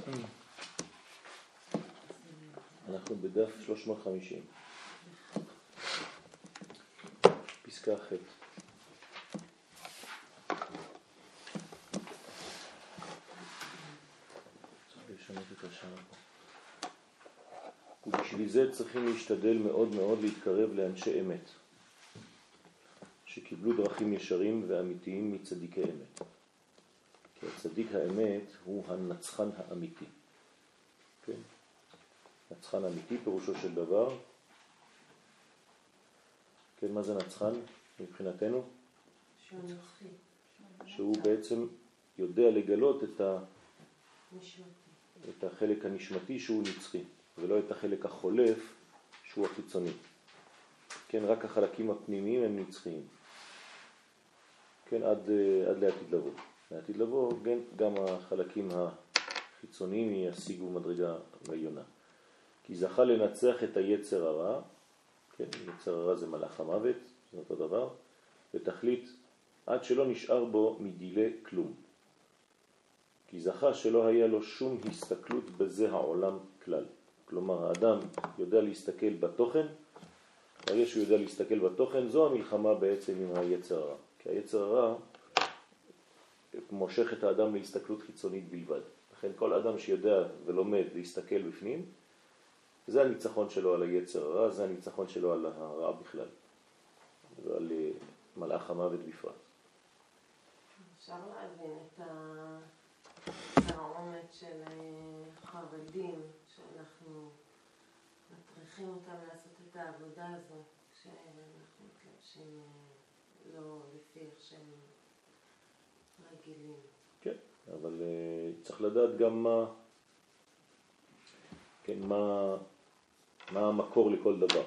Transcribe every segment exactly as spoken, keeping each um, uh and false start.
אנחנו בדף שלוש מאות וחמישים. פסקה ח'. ובשביל זה צריכים להשתדל מאוד מאוד להתקרב לאנשי אמת, שקיבלו דרכים ישרים ואמיתיים מצדיקי אמת. כי הצדיק האמת הוא הנצחן האמיתי. כן? נצחן אמיתי פירושו של דבר. כן, מה זה נצחן מבחינתנו? שהוא נצחי. שהוא בעצם יודע לגלות את, ה... נשמתי. את החלק הנשמתי שהוא נצחי, ולא את החלק החולף שהוא החיצוני. כן, רק החלקים הפנימיים הם נצחיים. כן, עד, עד לעתיד לבוא. לעתיד לבוא, כן, גם החלקים החיצוניים ישיגו מדרגה ועליונה. כי זכה לנצח את היצר הרע, כן, יצר הרע זה מלאך המוות, זה אותו דבר, ותחליט עד שלא נשאר בו מדילה כלום. כי זכה שלא היה לו שום הסתכלות בזה העולם כלל. כלומר, האדם יודע להסתכל בתוכן, הרי שהוא יודע להסתכל בתוכן, זו המלחמה בעצם עם היצר הרע. כי היצר הרע מושך את האדם להסתכלות חיצונית בלבד. לכן כל אדם שיודע ולומד להסתכל בפנים, זה הניצחון שלו על היצר הרע, זה הניצחון שלו על הרע בכלל. ועל מלאך המוות בפרט. אפשר להבין את העומק של חרדים, שאנחנו מטריחים אותם לעשות את העבודה הזו, כשאנחנו מתלבשים לא לפי איך שהם רגילים. כן, אבל uh, צריך לדעת גם מה, כן, מה, מה המקור לכל דבר.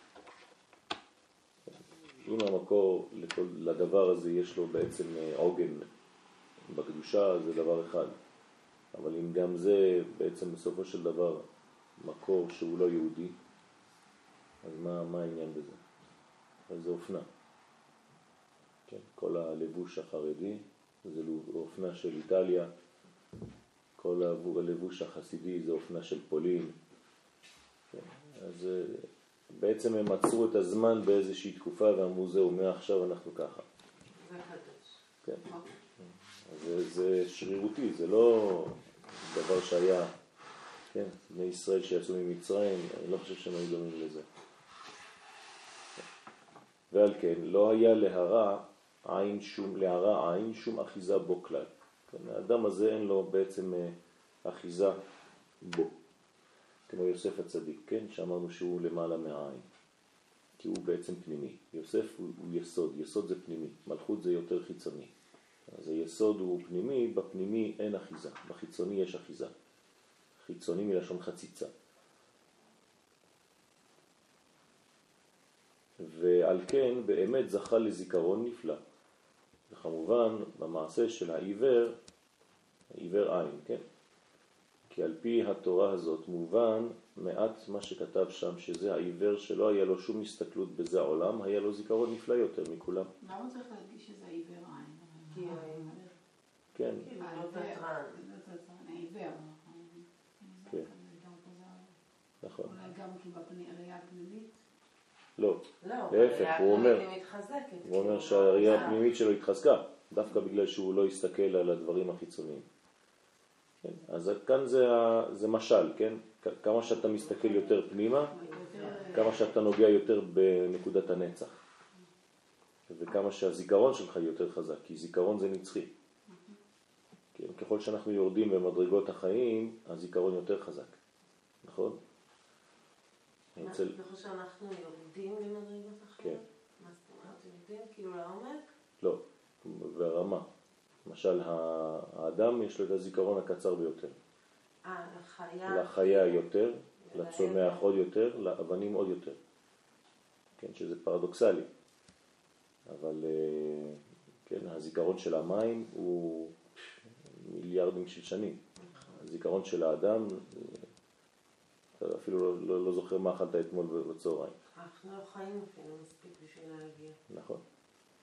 אם המקור לכל, לדבר הזה יש לו בעצם עוגן בקדושה, זה דבר אחד. אבל אם גם זה בעצם בסופו של דבר מקור שהוא לא יהודי, אז מה, מה העניין בזה? אז זה אופנה. כן, כל הלבוש החרדי, זה אופנה של איטליה, כל הלבוש החסידי זה אופנה של פולין. כן, אז בעצם הם עצרו את הזמן באיזושהי תקופה ואמרו זהו, מעכשיו אנחנו ככה. זה חדש. כן. זה, זה שרירותי, זה לא דבר שהיה, כן, בני ישראל שיצאו ממצרים, אני לא חושב שהם היו דומים לזה. ועל כן, לא היה להרע עין שום, להרע עין שום אחיזה בו כלל. כן, האדם הזה אין לו בעצם אחיזה בו. כמו יוסף הצדיק, כן, שאמרנו שהוא למעלה מהעין. כי הוא בעצם פנימי. יוסף הוא, הוא יסוד, יסוד זה פנימי, מלכות זה יותר חיצוני. אז היסוד הוא פנימי, בפנימי אין אחיזה, בחיצוני יש אחיזה. חיצוני מלשון חציצה. ועל כן באמת זכה לזיכרון נפלא. וכמובן במעשה של העיוור, העיוור עין, כן? כי על פי התורה הזאת מובן מעט מה שכתב שם, שזה העיוור שלא היה לו שום הסתכלות בזה העולם, היה לו זיכרון נפלא יותר מכולם. למה צריך להדגיש שזה עיוור עין? כי העיוור. כן. כאילו לא תתרן. העיוור. כן. נכון. אולי גם כי בראייה הפנימית? לא. לא, להפך, הוא אומר, מתחזקת. הוא אומר שהראייה הפנימית שלו התחזקה, דווקא בגלל שהוא לא הסתכל על הדברים החיצוניים. כן? אז כאן זה, זה משל, כן? כמה שאתה מסתכל יותר פנימה, כמה שאתה נוגע יותר בנקודת הנצח. וכמה שהזיכרון שלך יותר חזק, כי זיכרון זה נצחי. כן? ככל שאנחנו יורדים במדרגות החיים, הזיכרון יותר חזק. נכון? אתה חושב שאנחנו יורדים במדרגות החיים? כן. מה זאת אומרת? יורדים כאילו לעומק? לא, ברמה. למשל, האדם יש לו את הזיכרון הקצר ביותר. אה, לחיה. לחיה יותר, לצומח עוד יותר, לאבנים עוד יותר. כן, שזה פרדוקסלי. אבל כן, הזיכרון של המים הוא מיליארדים של שנים. הזיכרון של האדם, אתה אפילו לא, לא, לא זוכר מה אכלת אתמול בצהריים. אנחנו לא חיים אפילו מספיק בשביל להגיע. נכון.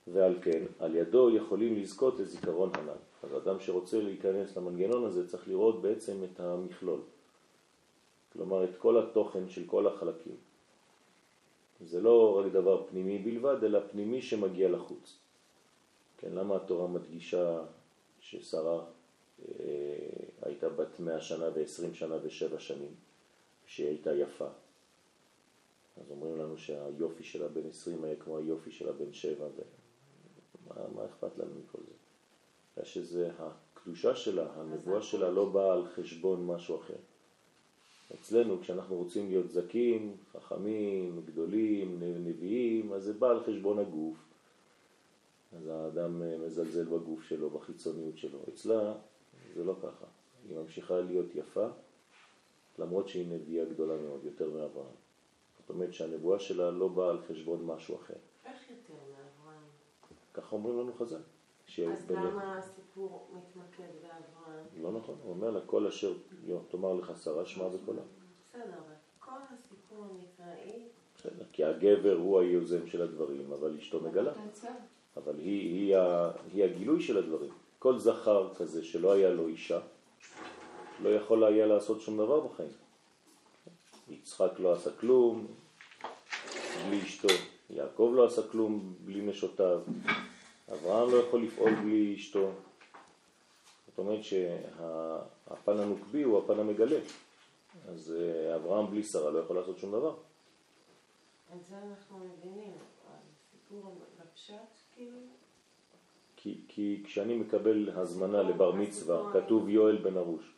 ועל כן, על ידו יכולים לזכות לזיכרון הנ"ל. אז אדם שרוצה להיכנס למנגנון הזה צריך לראות בעצם את המכלול. כלומר, את כל התוכן של כל החלקים. זה לא רק דבר פנימי בלבד, אלא פנימי שמגיע לחוץ. כן, למה התורה מדגישה ששרה אה, הייתה בת מאה שנה ועשרים שנה ושבע שנים, שהיא הייתה יפה? אז אומרים לנו שהיופי שלה בן עשרים היה כמו היופי שלה בן שבע, ומה מה אכפת לנו מכל זה? היה שזה הקדושה שלה, הנבואה שלה לא באה על חשבון משהו אחר. אצלנו כשאנחנו רוצים להיות זקים, חכמים, גדולים, נביאים, אז זה בא על חשבון הגוף. אז האדם מזלזל בגוף שלו, בחיצוניות שלו. אצלה זה לא ככה. היא ממשיכה להיות יפה, למרות שהיא נביאה גדולה מאוד, יותר מאברהם. זאת אומרת שהנבואה שלה לא באה על חשבון משהו אחר. איך יותר מאברהם? ככה אומרים לנו חז"ל. אז למה הסיפור מתמקד באברהם? לא נכון, הוא אומר לה, כל אשר תאמר לך שרה שמע בקולה. בסדר, אבל כל הסיפור המקראי... בסדר, כי הגבר הוא היוזם של הדברים, אבל אשתו מגלה. אבל היא, היא, היא הגילוי של הדברים. כל זכר כזה שלא היה לו אישה, לא יכול היה לעשות שום דבר בחיים. יצחק לא עשה כלום בלי אשתו, יעקב לא עשה כלום בלי נשותיו, אברהם לא יכול לפעול בלי אשתו. זאת אומרת שהפן הנוקבי הוא הפן המגלה. אז אברהם בלי שרה לא יכול לעשות שום דבר. את זה אנחנו מבינים, הסיפור בפשט כאילו? כי, כי כשאני מקבל הזמנה לבר מצווה, כתוב יואל בן ארוש.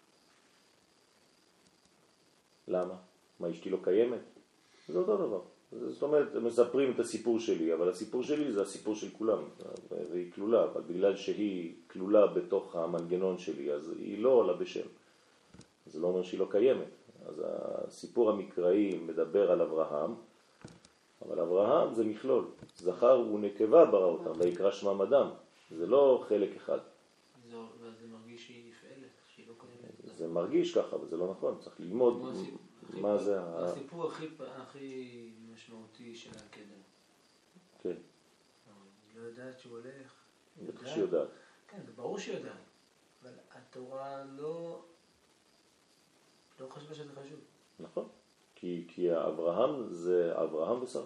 למה? מה, אשתי לא קיימת? זה אותו דבר. זאת אומרת, מספרים את הסיפור שלי, אבל הסיפור שלי זה הסיפור של כולם, והיא כלולה, אבל בגלל שהיא כלולה בתוך המנגנון שלי, אז היא לא עולה בשם. זה לא אומר שהיא לא קיימת. אז הסיפור המקראי מדבר על אברהם, אבל אברהם זה מכלול. זכר ונקבה ברא אותם, ויקרא שמם אדם. זה לא חלק אחד. זה מרגיש שהיא נפעלת, שהיא לא קיימת. זה מרגיש ככה, אבל זה לא נכון. צריך ללמוד מה זה... הסיפור הכי משמעותי של הקדם. כן. היא לא יודעת שהוא הולך. בטח שהיא יודעת. כן, זה ברור שהיא יודעת. אבל התורה לא... לא חשבה שזה חשוב. נכון. כי, כי אברהם זה אברהם ושרה.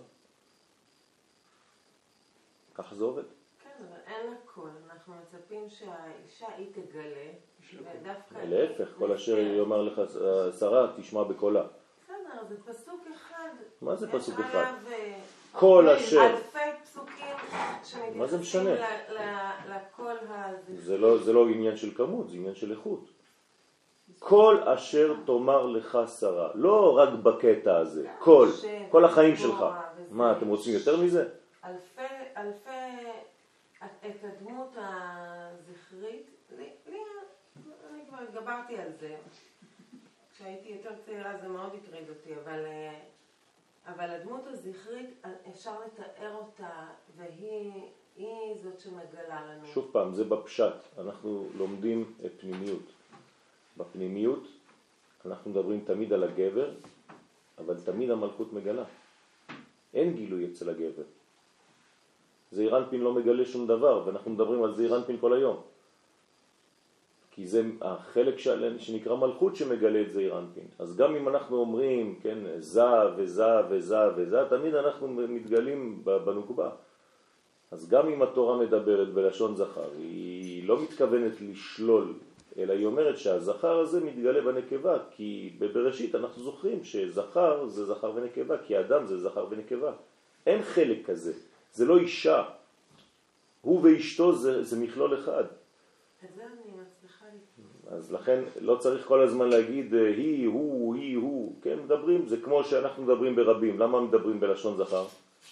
ככה זה עובד. כן, אבל אין הכל. אנחנו מצפים שהאישה היא תגלה, ודווקא... להפך, כל אשר יאמר לך שרה, תשמע בקולה. בסדר, זה פסוק אחד. מה זה פסוק אחד? כל אשר... אלפי פסוקים שמתייחסים לקול הזה. זה לא עניין של כמות, זה עניין של איכות. כל אשר תאמר לך שרה, לא רק בקטע הזה, כל, כל החיים שלך. מה, אתם רוצים יותר מזה? אלפי, אלפי, את הדמות הזכרית, לי, לי, אני כבר התגברתי על זה. כשהייתי יותר צעירה זה מאוד הטריד אותי, אבל, אבל הדמות הזכרית, אפשר לתאר אותה, והיא היא זאת שמגלה לנו. שוב פעם, זה בפשט. אנחנו לומדים פנימיות. בפנימיות אנחנו מדברים תמיד על הגבר, אבל תמיד המלכות מגלה. אין גילוי אצל הגבר. זעיר אנפין לא מגלה שום דבר, ואנחנו מדברים על זעיר אנפין כל היום. כי זה החלק שנקרא מלכות שמגלה את זעיר אנפין. אז גם אם אנחנו אומרים, כן, זה וזה וזה וזה, תמיד אנחנו מתגלים בנוקבה. אז גם אם התורה מדברת בלשון זכר, היא לא מתכוונת לשלול, אלא היא אומרת שהזכר הזה מתגלה בנקבה, כי בבראשית אנחנו זוכרים שזכר זה זכר ונקבה, כי האדם זה זכר ונקבה. אין חלק כזה, זה לא אישה. הוא ואשתו זה, זה מכלול אחד. את זה אני מצליחה לתפוס. אז לכן לא צריך כל הזמן להגיד היא, הוא, היא, הוא. כן, מדברים, זה כמו שאנחנו מדברים ברבים. למה מדברים בלשון זכר?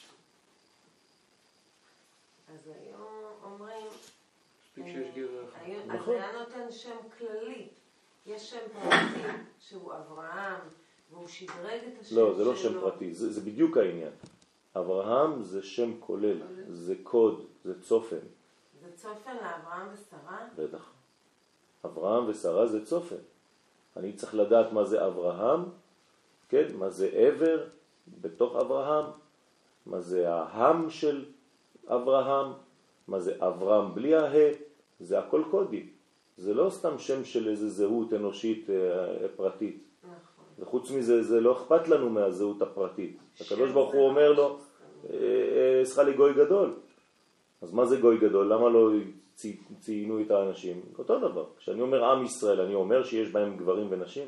אז היום אומרים... מספיק שיש גבר אחד. אז היה נותן שם כללי. יש שם פרטי שהוא אברהם, והוא שדרג את השם שלו. לא, זה לא שם פרטי, זה, זה בדיוק העניין. אברהם זה שם כולל, זה קוד, זה צופן. זה צופן לאברהם ושרה? בטח. אברהם ושרה זה צופן. אני צריך לדעת מה זה אברהם, כן? מה זה עבר בתוך אברהם, מה זה ההם של אברהם. מה זה אברהם בלי הה? זה הכל קודי. זה לא סתם שם של איזה זהות אנושית אה, פרטית. נכון. וחוץ מזה, זה לא אכפת לנו מהזהות הפרטית. הקדוש ברוך הוא אומר לו, אעשך לי גוי גדול. אז מה זה גוי גדול? למה לא ציינו את האנשים? אותו דבר. כשאני אומר עם ישראל, אני אומר שיש בהם גברים ונשים?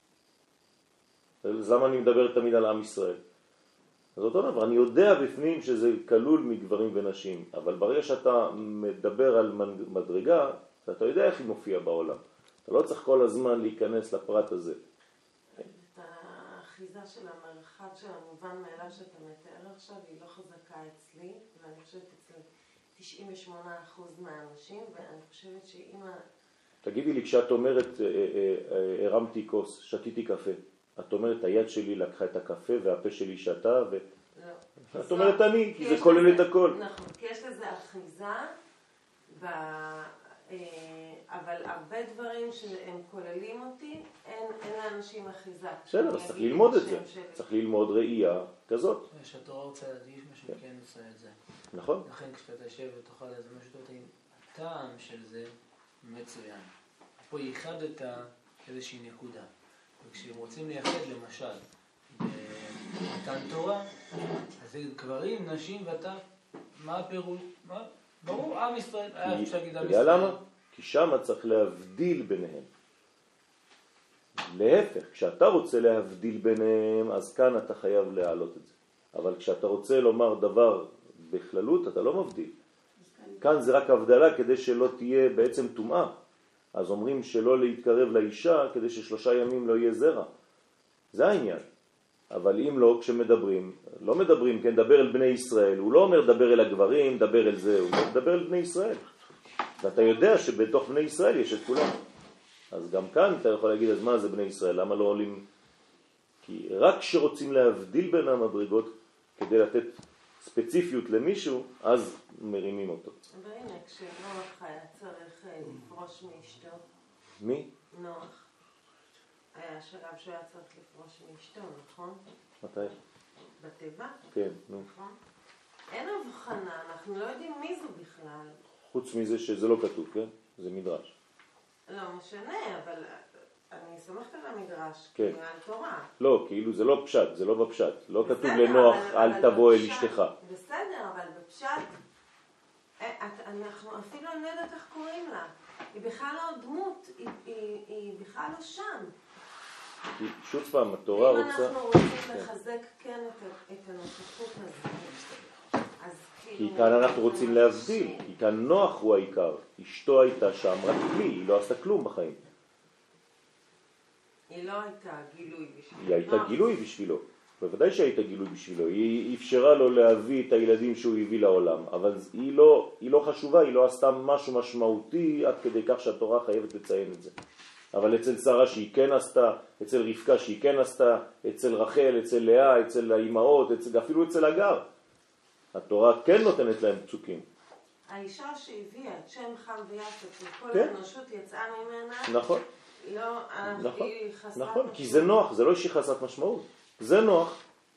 אז למה אני מדבר תמיד על עם ישראל? אז אותו דבר, אני יודע בפנים שזה כלול מגברים ונשים, אבל ברגע שאתה מדבר על מדרגה, אתה יודע איך היא מופיעה בעולם. אתה לא צריך כל הזמן להיכנס לפרט הזה. את האחיזה של המרחב של המובן מאליו שאתה מתאר עכשיו, היא לא חזקה אצלי, ואני חושבת אצל תשעים ושמונה אחוז מהאנשים, ואני חושבת שאם... תגידי לי, כשאת אומרת, הרמתי כוס, שתיתי קפה, את אומרת, היד שלי לקחה את הקפה והפה שלי שתה, ו... לא. את אומרת אני, כי זה כולל את הכל. נכון, כי יש לזה אחיזה, ב... אבל הרבה דברים שהם כוללים אותי, אין, אין לאנשים אחיזה. בסדר, אז צריך ללמוד את זה. שלי. צריך ללמוד ראייה כזאת. כשהתורה רוצה להדגיש משהו, כן, כן עושה את זה. נכון. לכן כשאתה יושב ותאכל איזה משהו טוב, הטעם של זה מצוין. פה ייחדת איזושהי נקודה. וכשהם רוצים לייחד למשל במתן תורה, אז זה גברים, נשים ואתה, מה הפירוש? מה? ברור, עם ישראל, היה אפשר להגיד עם ישראל. יודע למה? כי שם צריך להבדיל ביניהם. להפך, כשאתה רוצה להבדיל ביניהם, אז כאן אתה חייב להעלות את זה. אבל כשאתה רוצה לומר דבר בכללות, אתה לא מבדיל. כאן זה רק הבדלה כדי שלא תהיה בעצם טומאה. אז אומרים שלא להתקרב לאישה כדי ששלושה ימים לא יהיה זרע. זה העניין. אבל אם לא, כשמדברים, לא מדברים, כן, דבר אל בני ישראל. הוא לא אומר דבר אל הגברים, דבר אל זה, הוא מדבר אל בני ישראל. ואתה יודע שבתוך בני ישראל יש את כולם. אז גם כאן אתה יכול להגיד, אז מה זה בני ישראל? למה לא עולים? כי רק כשרוצים להבדיל בין המדרגות, כדי לתת ספציפיות למישהו, אז מרימים אותו. אבל הנה, כשנוח היה צריך לפרוש מאשתו. מי? נוח. היה שלב שהוא היה צריך לפרוש מאשתו, נכון? מתי? בטבע? כן, נו. נכון? אין הבחנה, אנחנו לא יודעים מי זו בכלל. חוץ מזה שזה לא כתוב, כן? זה מדרש. לא משנה, אבל אני סומכת על המדרש, כן. כאילו על תורה. לא, כאילו זה לא פשט, זה לא בפשט. לא בסדר, כתוב לנוח, אבל, אל אבל תבוא אל בפשט, אשתך. בסדר, אבל בפשט, את, אנחנו אפילו אני לא יודעת איך קוראים לה. היא בכלל לא דמות, היא, היא, היא בכלל לא שם. כי שוב פעם, התורה רוצה... אם אנחנו רוצים לחזק כן את, את הנוכחות הזאת, אז כי כאילו... כאן אנחנו רוצים להבדיל, כי כאן נוח הוא העיקר. אשתו הייתה שם רק כלי, היא לא עשתה כלום בחיים. היא לא הייתה גילוי בשבילו. היא הייתה גילוי בשבילו. בוודאי שהייתה גילוי בשבילו. היא אפשרה לו להביא את הילדים שהוא הביא לעולם. אבל היא לא, היא לא חשובה, היא לא עשתה משהו משמעותי עד כדי כך שהתורה חייבת לציין את זה. אבל אצל שרה שהיא כן עשתה, אצל רבקה שהיא כן עשתה, אצל רחל, אצל לאה, אצל האימהות, אצל, אפילו אצל הגר. התורה כן נותנת להם פסוקים. האישה שהביאה את שם חם ויפת וכל כן. האנושות יצאה ממנה, נכון. לא, נכון, היא חסרת נכון, משמעות. כי זה נוח, זה לא שהיא חסרת משמעות. זה נוח.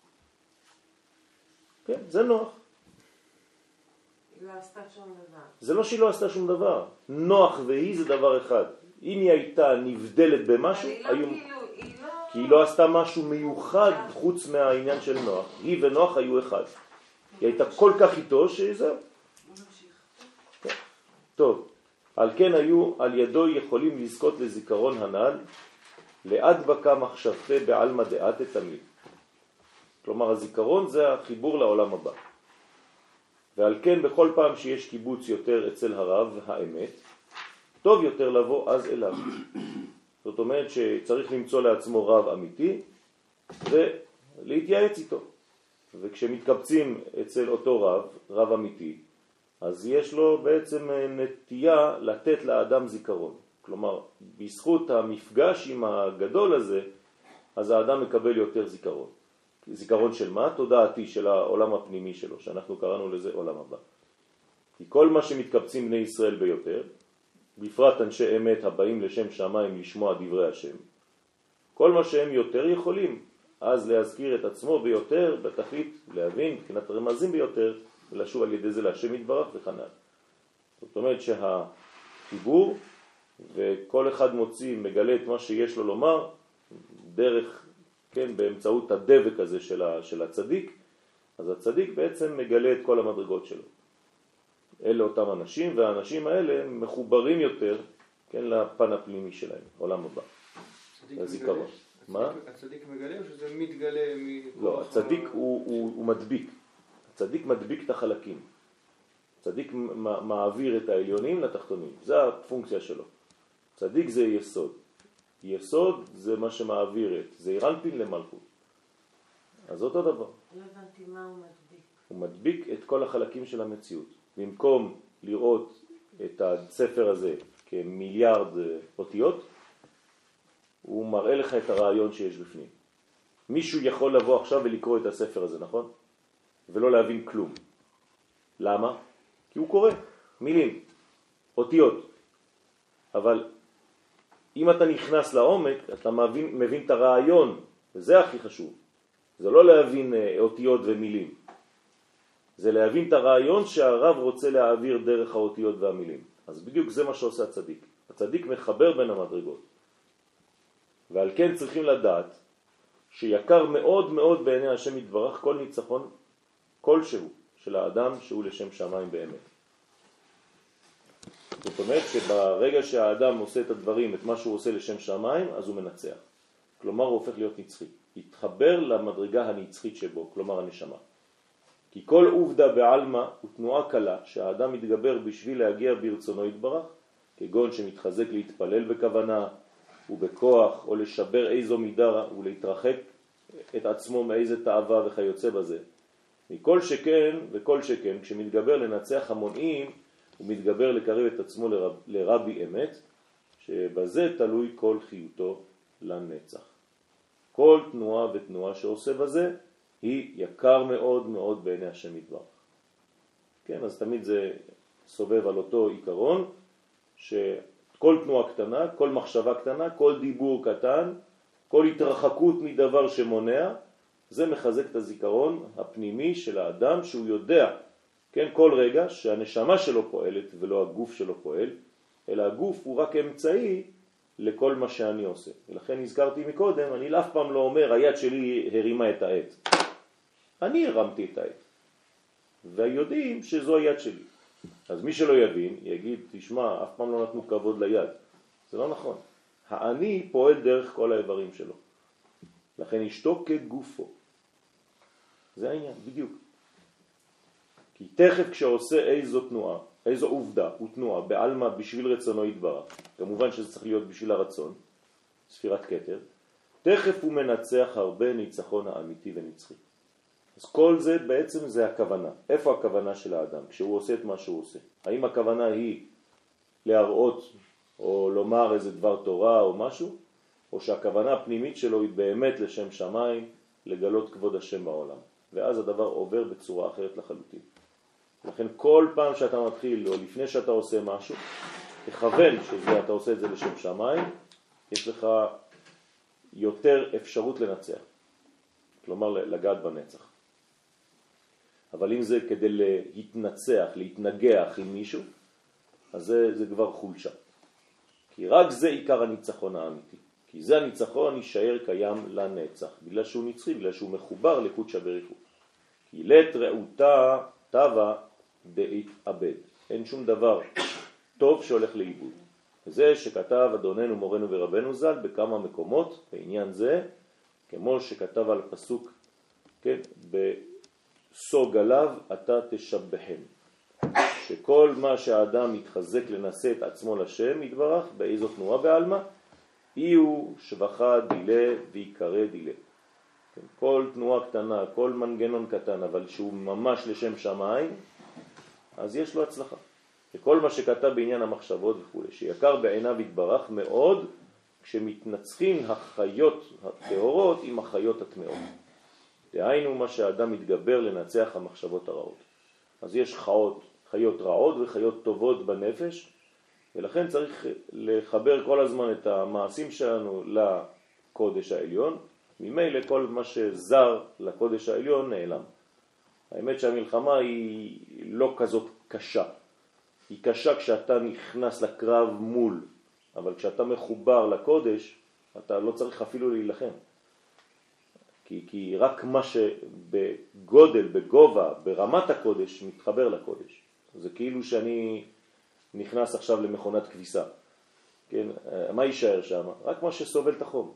כן, זה נוח. היא לא עשתה שום דבר. זה לא שהיא לא עשתה שום דבר. נוח והיא זה דבר אחד. אם היא הייתה נבדלת במשהו, אבל היא לא היו... כאילו, היא לא... כי היא לא עשתה משהו מיוחד חוץ מהעניין של נוח. היא ונוח היו אחד. היא הייתה כל כך איתו שזהו. כן. טוב, על כן היו על ידו יכולים לזכות לזיכרון הנ"ל, לעד בקה מחשבתי בעלמא דעתי תמיד. כלומר, הזיכרון זה החיבור לעולם הבא. ועל כן בכל פעם שיש קיבוץ יותר אצל הרב האמת, טוב יותר לבוא אז אליו. זאת אומרת שצריך למצוא לעצמו רב אמיתי ולהתייעץ איתו. וכשמתקבצים אצל אותו רב, רב אמיתי, אז יש לו בעצם נטייה לתת לאדם זיכרון. כלומר, בזכות המפגש עם הגדול הזה, אז האדם מקבל יותר זיכרון. זיכרון של מה? תודעתי של העולם הפנימי שלו, שאנחנו קראנו לזה עולם הבא. כי כל מה שמתקבצים בני ישראל ביותר, בפרט אנשי אמת הבאים לשם שמיים לשמוע דברי השם, כל מה שהם יותר יכולים, אז להזכיר את עצמו ביותר, בתכלית להבין, מבחינת רמזים ביותר, ולשוב על ידי זה להשם יתברך וכנ"ל. זאת אומרת שהחיבור, וכל אחד מוציא, מגלה את מה שיש לו לומר, דרך, כן, באמצעות הדבק הזה של, ה, של הצדיק, אז הצדיק בעצם מגלה את כל המדרגות שלו. אלה אותם אנשים, והאנשים האלה מחוברים יותר, כן, לפן הפנימי שלהם, עולם הבא. הזיכרון. מה? הצדיק מגלה או שזה מתגלה? לא, הצדיק הוא, הוא, הוא מדביק. הצדיק מדביק את החלקים. צדיק מעביר את העליונים לתחתונים. זה הפונקציה שלו. צדיק זה יסוד. יסוד זה מה שמעביר את. זה אירנפין למלכות. אז אותו דבר. לא הבנתי מה הוא מדביק. הוא מדביק את כל החלקים של המציאות. במקום לראות את הספר הזה כמיליארד אותיות, הוא מראה לך את הרעיון שיש בפנים. מישהו יכול לבוא עכשיו ולקרוא את הספר הזה, נכון? ולא להבין כלום. למה? כי הוא קורא מילים, אותיות. אבל אם אתה נכנס לעומק, אתה מבין, מבין את הרעיון, וזה הכי חשוב. זה לא להבין אותיות ומילים. זה להבין את הרעיון שהרב רוצה להעביר דרך האותיות והמילים. אז בדיוק זה מה שעושה הצדיק. הצדיק מחבר בין המדרגות. ועל כן צריכים לדעת שיקר מאוד מאוד בעיני השם יתברך כל ניצחון כלשהו של האדם שהוא לשם שמיים באמת. זאת אומרת שברגע שהאדם עושה את הדברים, את מה שהוא עושה לשם שמיים, אז הוא מנצח. כלומר הוא הופך להיות נצחי. יתחבר למדרגה הנצחית שבו, כלומר הנשמה. כי כל עובדה בעלמא הוא תנועה קלה שהאדם מתגבר בשביל להגיע ברצונו יתברך, כגון שמתחזק להתפלל בכוונה ובכוח, או לשבר איזו מידה ולהתרחק את עצמו מאיזה תאווה וכיוצא בזה. מכל שכן וכל שכן, כשמתגבר לנצח המונעים, הוא מתגבר לקרב את עצמו לרב, לרבי אמת, שבזה תלוי כל חיותו לנצח. כל תנועה ותנועה שעושה בזה, היא יקר מאוד מאוד בעיני השם יתברך. כן, אז תמיד זה סובב על אותו עיקרון, שכל תנועה קטנה, כל מחשבה קטנה, כל דיבור קטן, כל התרחקות מדבר שמונע, זה מחזק את הזיכרון הפנימי של האדם שהוא יודע, כן, כל רגע שהנשמה שלו פועלת ולא הגוף שלו פועל, אלא הגוף הוא רק אמצעי לכל מה שאני עושה. ולכן הזכרתי מקודם, אני אף פעם לא אומר, היד שלי הרימה את העט. אני הרמתי את העט. ויודעים שזו היד שלי. אז מי שלא יבין, יגיד, תשמע, אף פעם לא נתנו כבוד ליד. זה לא נכון. האני פועל דרך כל האיברים שלו. לכן אשתו כגופו. זה העניין, בדיוק. כי תכף כשעושה איזו תנועה, איזו עובדה ותנועה בעלמא בשביל רצונו יתברך, כמובן שזה צריך להיות בשביל הרצון, ספירת כתר, תכף הוא מנצח הרבה ניצחון האמיתי ונצחי. אז כל זה בעצם זה הכוונה. איפה הכוונה של האדם כשהוא עושה את מה שהוא עושה? האם הכוונה היא להראות או לומר איזה דבר תורה או משהו? או שהכוונה הפנימית שלו היא באמת לשם שמיים, לגלות כבוד השם בעולם. ואז הדבר עובר בצורה אחרת לחלוטין. לכן כל פעם שאתה מתחיל או לפני שאתה עושה משהו, תכוון שאתה עושה את זה לשם שמיים, יש לך יותר אפשרות לנצח. כלומר לגעת בנצח. אבל אם זה כדי להתנצח, להתנגח עם מישהו, אז זה, זה כבר חולשה. כי רק זה עיקר הניצחון האמיתי. כי זה הניצחון יישאר קיים לנצח, בגלל שהוא נצחי, בגלל שהוא מחובר לקודשא בריך הוא. כי לית רעותה טבע דאיתאבד. אין שום דבר טוב שהולך לאיבוד. וזה שכתב אדוננו מורנו ורבנו ז"ל בכמה מקומות בעניין זה, כמו שכתב על פסוק, כן, בסוג עליו אתה תשבחם. שכל מה שהאדם מתחזק לנשא את עצמו לשם יתברך, באיזו תנועה בעלמא, אי הוא שבחה דילה ויקרא דילה. כן, כל תנועה קטנה, כל מנגנון קטן, אבל שהוא ממש לשם שמיים, אז יש לו הצלחה. וכל מה שכתב בעניין המחשבות וכו', שיקר בעיניו יתברך מאוד, כשמתנצחים החיות הטהורות עם החיות הטמאות. דהיינו מה שהאדם מתגבר לנצח המחשבות הרעות. אז יש חיות, חיות רעות וחיות טובות בנפש, ולכן צריך לחבר כל הזמן את המעשים שלנו לקודש העליון. ממילא כל מה שזר לקודש העליון נעלם. האמת שהמלחמה היא לא כזאת קשה. היא קשה כשאתה נכנס לקרב מול, אבל כשאתה מחובר לקודש, אתה לא צריך אפילו להילחם. כי, כי רק מה שבגודל, בגובה, ברמת הקודש, מתחבר לקודש. זה כאילו שאני נכנס עכשיו למכונת כביסה. כן? מה יישאר שם? רק מה שסובל את החום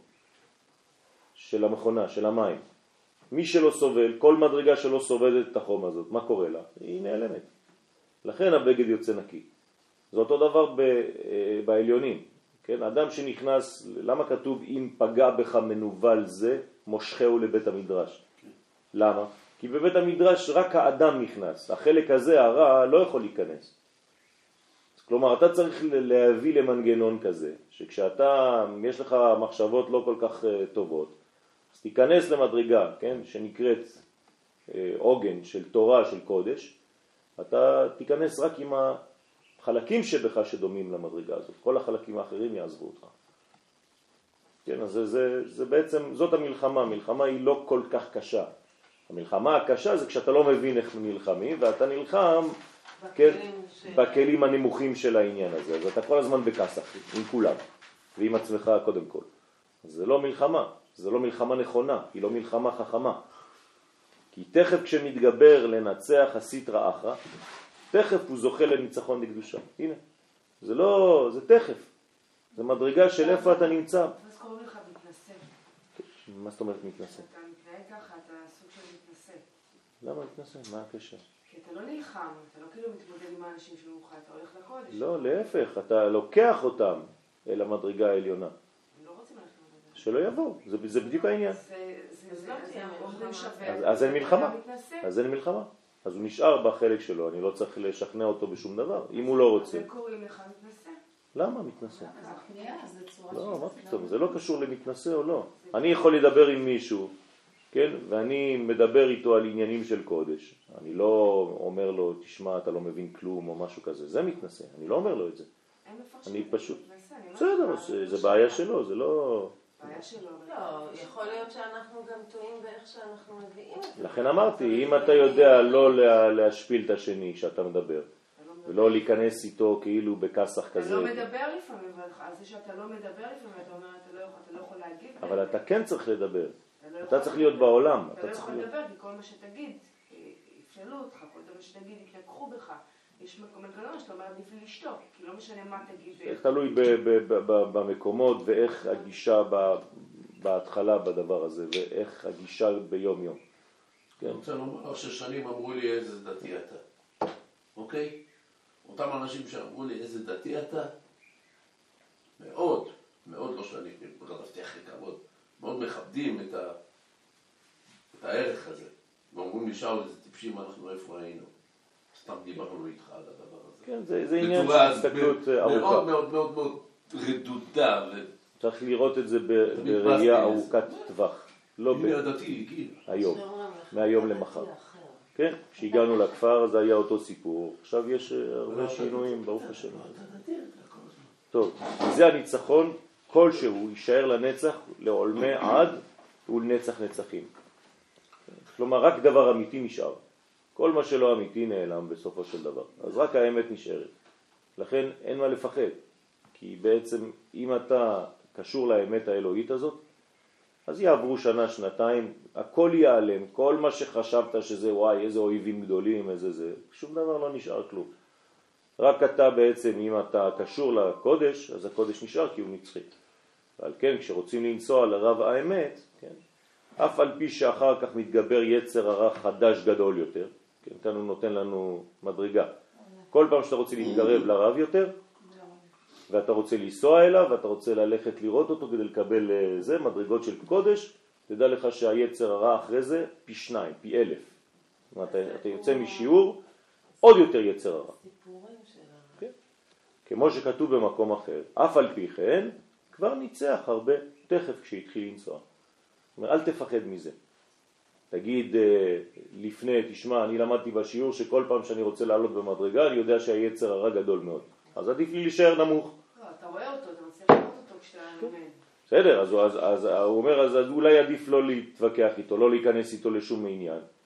של המכונה, של המים. מי שלא סובל, כל מדרגה שלא סובלת את החום הזאת, מה קורה לה? היא נעלמת. לכן הבגד יוצא נקי. זה אותו דבר ב, בעליונים. כן? אדם שנכנס, למה כתוב אם פגע בך מנובל זה, מושכהו לבית המדרש? למה? כי בבית המדרש רק האדם נכנס. החלק הזה, הרע, לא יכול להיכנס. כלומר, אתה צריך להביא למנגנון כזה, שכשאתה, יש לך מחשבות לא כל כך טובות, אז תיכנס למדרגה, כן, שנקראת עוגן של תורה, של קודש, אתה תיכנס רק עם החלקים שבך שדומים למדרגה הזאת. כל החלקים האחרים יעזבו אותך. כן, אז זה, זה, זה בעצם, זאת המלחמה. המלחמה היא לא כל כך קשה. המלחמה הקשה זה כשאתה לא מבין איך נלחמים, ואתה נלחם כן, ש... בכלים הנמוכים של העניין הזה. אז אתה כל הזמן בכסח, עם כולם, ועם עצמך קודם כל. אז זה לא מלחמה, זה לא מלחמה נכונה, היא לא מלחמה חכמה. כי תכף כשמתגבר לנצח הסטרא אחרא, תכף הוא זוכה לניצחון לקדושה. הנה, זה לא, זה תכף. זה מדרגה של איפה אתה נמצא. אז קוראים לך מתנשא. מה זאת אומרת מתנשא? אתה מתנהג ככה, אתה סוג של מתנשא. למה מתנשא? מה הקשר? כי אתה לא נלחם, אתה לא כאילו מתמודד עם האנשים שלך, אתה הולך לקודש. לא, להפך, אתה לוקח אותם אל המדרגה העליונה. הם לא רוצים ללכת למדרגה. שלא יבואו, זה, זה בדיוק העניין. זה לא תהיה מלחמה. אז אין מלחמה. אז אין מלחמה. אז הוא נשאר בחלק שלו, אני לא צריך לשכנע אותו בשום דבר, אם הוא לא רוצה. הם קוראים לך מתנשא. למה מתנשא? אז הכניעה, זה צורה לא, מה פתאום, זה לא קשור למתנשא או לא. אני יכול לדבר עם מישהו, כן, ואני מדבר איתו על עניינים של קודש. אני לא אומר לו, תשמע, אתה לא מבין כלום או משהו כזה. זה מתנשא, אני לא אומר לו את זה. אני פשוט, בסדר, זה בעיה שלו, זה לא... בעיה שלו. לא, יכול להיות שאנחנו גם טועים באיך שאנחנו מביאים את זה. לכן אמרתי, אם אתה יודע לא להשפיל את השני כשאתה מדבר, ולא להיכנס איתו כאילו בכסח כזה. אתה לא מדבר לפעמים, על זה שאתה לא מדבר לפעמים, אתה אומר, אתה לא יכול להגיב. אבל אתה כן צריך לדבר. אתה צריך להיות בעולם. אתה לא יכול לדבר, כי כל מה שתגיד, יפסלו אותך, כל דבר שתגיד, יתלקחו בך. יש מנגנון שאתה אומר, עדיף לי לשתוק, כי לא משנה מה תגיד. איך תלוי במקומות ואיך הגישה בהתחלה בדבר הזה, ואיך הגישה ביום יום. אני רוצה לומר ששנים אמרו לי איזה דתי אתה. אוקיי? אותם אנשים שאמרו לי איזה דתי אתה, מאוד, מאוד לא שנים, רדפתי אחרי כבוד, מאוד מכבדים את, ה, את הערך הזה. ואומרים לי, שאול, איזה טיפשים אנחנו איפה היינו. סתם דיברנו איתך על הדבר הזה. כן, זה, זה עניין של הסתכלות ארוכה. מאוד מאוד מאוד מאוד רדודה. ו... צריך לראות את זה בראייה ארוכת טווח. לא ב... היום, מהיום למחר. כן, כשהגענו לכפר זה היה אותו סיפור. עכשיו יש הרבה שינויים, ברוך השם. טוב, זה הניצחון, כלשהו יישאר לנצח, לעולמי עד ולנצח נצחים. כלומר, רק דבר אמיתי נשאר. כל מה שלא אמיתי נעלם בסופו של דבר. אז רק האמת נשארת. לכן אין מה לפחד. כי בעצם אם אתה קשור לאמת האלוהית הזאת, אז יעברו שנה, שנתיים, הכל ייעלם. כל מה שחשבת שזה וואי, איזה אויבים גדולים, איזה זה, שום דבר לא נשאר כלום. רק אתה בעצם, אם אתה קשור לקודש, אז הקודש נשאר כי הוא נצחי. ועל כן, כשרוצים לנסוע לרב האמת, כן, אף על פי שאחר כך מתגבר יצר הרע חדש גדול יותר, כן, כאן הוא נותן לנו מדרגה. כל פעם שאתה רוצה להתקרב לרב יותר, ואתה רוצה לנסוע אליו, ואתה רוצה ללכת לראות אותו כדי לקבל זה, מדרגות של קודש, תדע לך שהיצר הרע אחרי זה פי שניים, פי אלף. זאת אומרת, אתה יוצא משיעור, עוד יותר יצר הרע. כן. כמו שכתוב במקום אחר, אף על פי כן, כבר ניצח הרבה תכף כשהתחיל לנסוע. זאת אומרת, אל תפחד מזה. תגיד לפני, תשמע, אני למדתי בשיעור שכל פעם שאני רוצה לעלות במדרגה, אני יודע שהיצר הרע גדול מאוד. אז עדיף לי להישאר נמוך. לא, אתה רואה אותו, אתה רוצה לראות אותו כשאתה לומד. בסדר, אז, אז, אז הוא אומר, אז אולי עדיף לא להתווכח איתו, לא להיכנס איתו לשום עניין.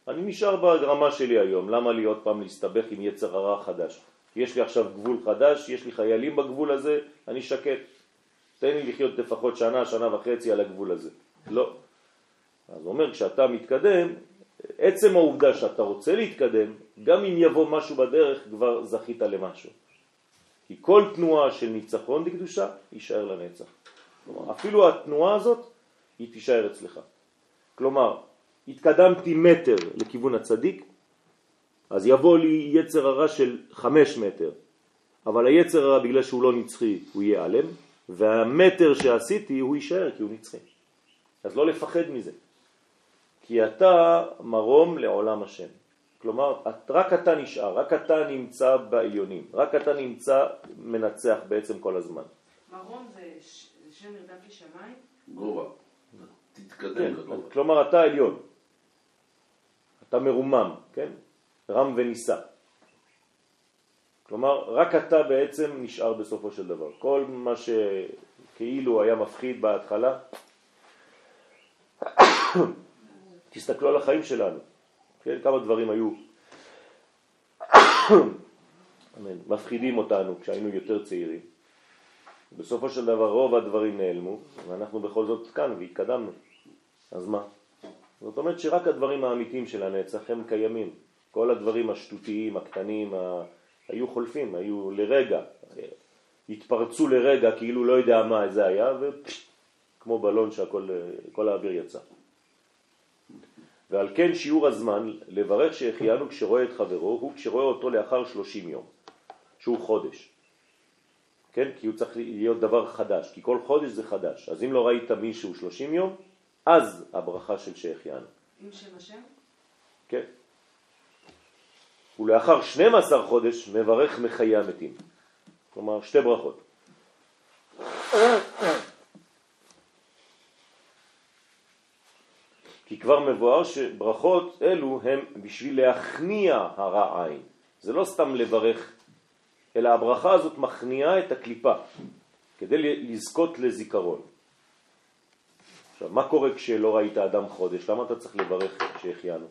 אני נשאר ברמה שלי היום, למה לי עוד פעם להסתבך עם יצר הרע חדש? יש לי עכשיו גבול חדש, יש לי חיילים בגבול הזה, אני שקט. תן לי לחיות לפחות שנה, שנה וחצי על הגבול הזה. לא. אז הוא אומר, כשאתה מתקדם, עצם העובדה שאתה רוצה להתקדם, גם אם יבוא משהו בדרך, כבר זכית למשהו. כי כל תנועה של ניצחון בקדושה, יישאר לנצח. כלומר, אפילו התנועה הזאת, היא תישאר אצלך. כלומר, התקדמתי מטר לכיוון הצדיק, אז יבוא לי יצר הרע של חמש מטר. אבל היצר הרע, בגלל שהוא לא נצחי, הוא יהיה עלם, והמטר שעשיתי הוא יישאר כי הוא נצחי. אז לא לפחד מזה. כי אתה מרום לעולם השם. כלומר, רק אתה נשאר, רק אתה נמצא בעליונים, רק אתה נמצא מנצח בעצם כל הזמן. מרום זה שם נרדף לשמיים? גובה. תתקדם כן, לגובה. כלומר אתה עליון. אתה מרומם, כן? רם וניסה. כלומר, רק אתה בעצם נשאר בסופו של דבר. כל מה שכאילו היה מפחיד בהתחלה, תסתכלו על החיים שלנו. כן? כמה דברים היו מפחידים אותנו כשהיינו יותר צעירים. בסופו של דבר רוב הדברים נעלמו, ואנחנו בכל זאת כאן והתקדמנו. אז מה? זאת אומרת שרק הדברים האמיתיים של הנצח הם קיימים. כל הדברים השטותיים, הקטנים, ה... היו חולפים, היו לרגע, התפרצו לרגע כאילו לא יודע מה זה היה, וכמו בלון שהכל כל האוויר יצא. ועל כן שיעור הזמן לברך שהחיינו כשרואה את חברו הוא כשרואה אותו לאחר שלושים יום, שהוא חודש. כן? כי הוא צריך להיות דבר חדש, כי כל חודש זה חדש. אז אם לא ראית מישהו שלושים יום, אז הברכה של שהחיינו. עם שם השם? כן. ולאחר שנים עשר חודש מברך מחיי המתים. כלומר, שתי ברכות. כי כבר מבואר שברכות אלו הם בשביל להכניע הרע עין. זה לא סתם לברך, אלא הברכה הזאת מכניעה את הקליפה, כדי לזכות לזיכרון. עכשיו, מה קורה כשלא ראית אדם חודש? למה אתה צריך לברך שהחיינו?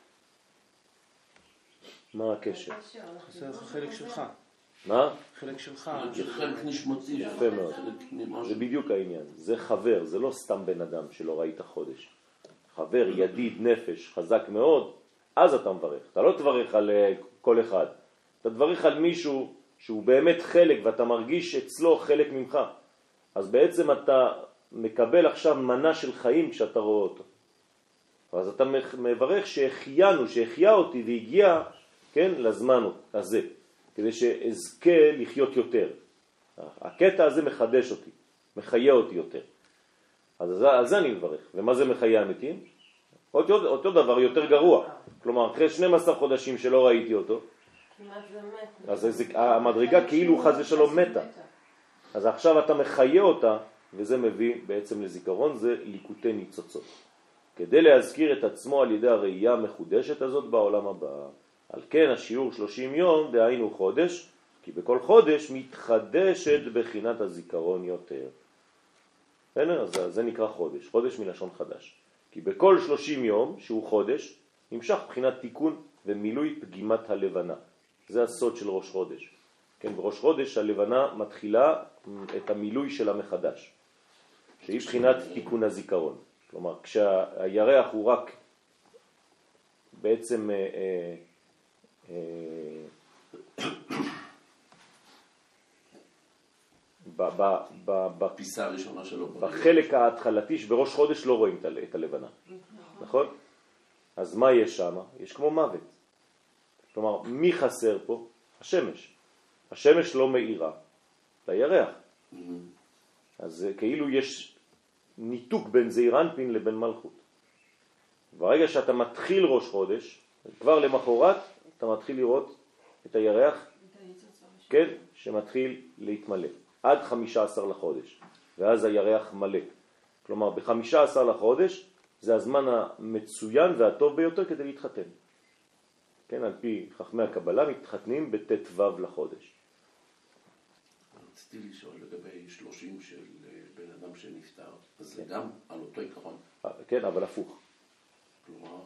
מה הקשר? חסר לך חלק שלך. מה? חלק שלך. חלק נשמתי. יפה מאוד. זה בדיוק העניין. זה חבר, זה לא סתם בן אדם שלא ראית חודש. חבר, ידיד, נפש, חזק מאוד, אז אתה מברך. אתה לא תברך על כל אחד. אתה תברך על מישהו שהוא באמת חלק ואתה מרגיש אצלו חלק ממך. אז בעצם אתה מקבל עכשיו מנה של חיים כשאתה רואה אותו. אז אתה מברך שהחיינו, שהחיה אותי והגיע, כן, לזמן הזה, כדי שאזכה לחיות יותר. הקטע הזה מחדש אותי, מחיה אותי יותר. אז על זה אני מברך. ומה זה מחיה המתים? אותו, אותו דבר יותר גרוע. כלומר, אחרי שנים עשר חודשים שלא ראיתי אותו, כמעט זה מת. אז זה, המדרגה כאילו חס ושלום מתה. אז עכשיו אתה מחיה אותה, וזה מביא בעצם לזיכרון, זה ליקוטי ניצוצות. כדי להזכיר את עצמו על ידי הראייה המחודשת הזאת בעולם הבא. על כן השיעור שלושים יום, דהיינו חודש, כי בכל חודש מתחדשת בחינת הזיכרון יותר. אז זה נקרא חודש, חודש מלשון חדש. כי בכל שלושים יום, שהוא חודש, נמשך בחינת תיקון ומילוי פגימת הלבנה. זה הסוד של ראש חודש. כן, בראש חודש הלבנה מתחילה את המילוי שלה מחדש, שהיא בחינת תיקון הזיכרון. כלומר, כשהירח הוא רק בעצם אה, אה, בפיסה הראשונה שלו. בחלק ההתחלתי שבראש חודש לא רואים את הלבנה. נכון? אז מה יש שם? יש כמו מוות. כלומר, מי חסר פה? השמש. השמש לא מאירה לירח. אז כאילו יש ניתוק בין זעיר אנפין לבין מלכות. ברגע שאתה מתחיל ראש חודש, כבר למחרת אתה מתחיל לראות את הירח, כן, שמתחיל להתמלא. עד חמישה עשר לחודש, ואז הירח מלא. כלומר, ב-חמישה עשר לחודש זה הזמן המצוין והטוב ביותר כדי להתחתן. כן, על פי חכמי הקבלה מתחתנים בט"ו לחודש. רציתי לשאול לגבי שלושים של בן אדם שנפטר, אז זה גם על אותו עיקרון. כן, אבל הפוך. כלומר,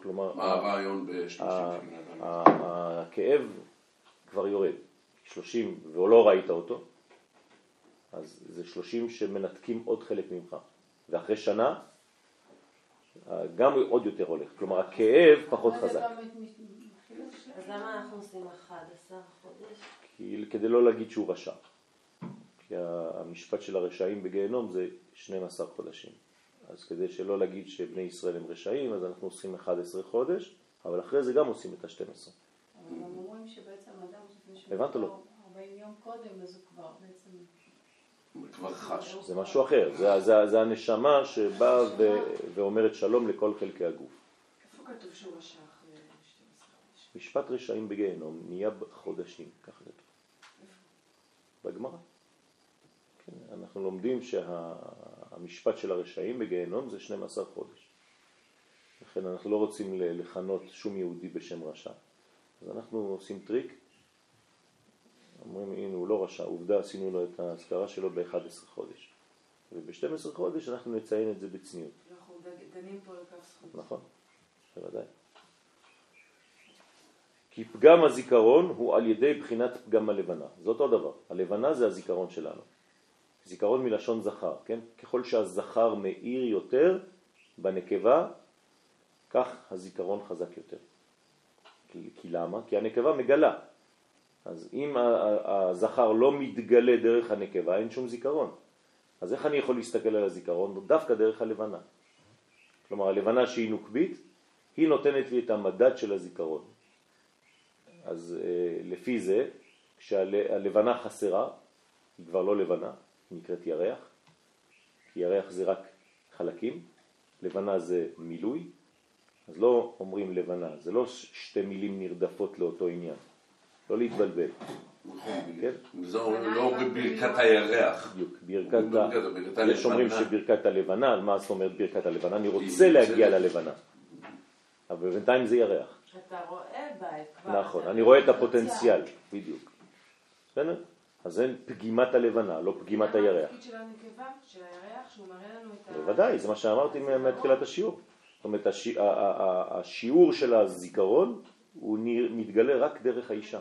כלומר, מה הרעיון ב-שלושים ה- של בני אדם? ה- הכאב כבר יורד, שלושים, ולא ראית אותו, אז זה שלושים שמנתקים עוד חלק ממך, ואחרי שנה גם עוד יותר הולך, כלומר הכאב פחות חזק. אז למה אנחנו עושים אחד עשר חודש? כי, כדי לא להגיד שהוא רשע. כי המשפט של הרשעים בגיהנום זה שנים עשר חודשים. אז כדי שלא להגיד שבני ישראל הם רשעים, אז אנחנו עושים אחד עשר חודש, אבל אחרי זה גם עושים את ה-שתים עשרה. אבל הם אומרים שבעצם אדם, הבנת או לא? ארבעים יום קודם, אז הוא כבר בעצם... כבר חש. זה משהו אחר, זה, זה, זה הנשמה שבאה ו, ואומרת שלום לכל חלקי הגוף. איפה כתוב שהוא רשע אחרי שתים עשרה חודש? משפט רשעים בגיהנום נהיה בחודשים, ככה כתוב. בגמרא. כן, אנחנו לומדים שהמשפט של הרשעים בגיהנום זה שנים עשר חודש. לכן אנחנו לא רוצים לכנות שום יהודי בשם רשע. אז אנחנו עושים טריק, אומרים הנה הוא לא רשע, עובדה עשינו לו את ההזכרה שלו ב-אחד עשר חודש. וב-שתים עשרה חודש אנחנו נציין את זה בצניעות. אנחנו דנים פה לכף זכות. נכון, בוודאי. כי פגם הזיכרון הוא על ידי בחינת פגם הלבנה. זה אותו דבר. הלבנה זה הזיכרון שלנו. זיכרון מלשון זכר, כן? ככל שהזכר מאיר יותר בנקבה, כך הזיכרון חזק יותר. כי, כי למה? כי הנקבה מגלה. אז אם הזכר לא מתגלה דרך הנקבה, אין שום זיכרון. אז איך אני יכול להסתכל על הזיכרון? דווקא דרך הלבנה. כלומר, הלבנה שהיא נוקבית, היא נותנת לי את המדד של הזיכרון. אז לפי זה, כשהלבנה חסרה, היא כבר לא לבנה, היא נקראת ירח, כי ירח זה רק חלקים, לבנה זה מילוי, אז לא אומרים לבנה, זה לא שתי מילים נרדפות לאותו עניין, לא להתבלבל. כן? זה לא בברכת הירח. בדיוק, ברכת ה... יש אומרים שברכת הלבנה, מה זאת אומרת ברכת הלבנה? אני רוצה להגיע ללבנה, אבל בינתיים זה ירח. אתה רואה בה, נכון, אני רואה את הפוטנציאל, בדיוק. בסדר? אז זה פגימת הלבנה, לא פגימת הירח. התפקיד של הנקבה, של הירח, שהוא מראה לנו את ה... בוודאי, זה מה שאמרתי מתחילת השיעור. זאת אומרת, השיעור של הזיכרון הוא מתגלה רק דרך האישה.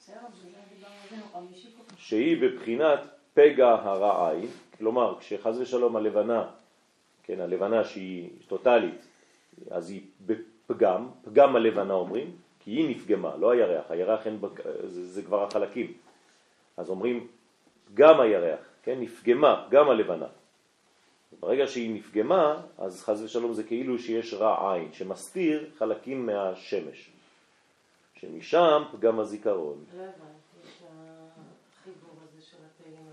שהיא בבחינת פגע הרע עין, כלומר, כשחז ושלום הלבנה, כן, הלבנה שהיא טוטלית, אז היא בפגם, פגם הלבנה אומרים, כי היא נפגמה, לא הירח, הירח אין, זה, זה כבר החלקים. אז אומרים, גם הירח, כן, נפגמה, גם הלבנה. ברגע שהיא נפגמה, אז חז ושלום זה כאילו שיש רע עין, שמסתיר חלקים מהשמש. שמשם פגם הזיכרון. לא הבנתי את החיבור הזה של הפעילים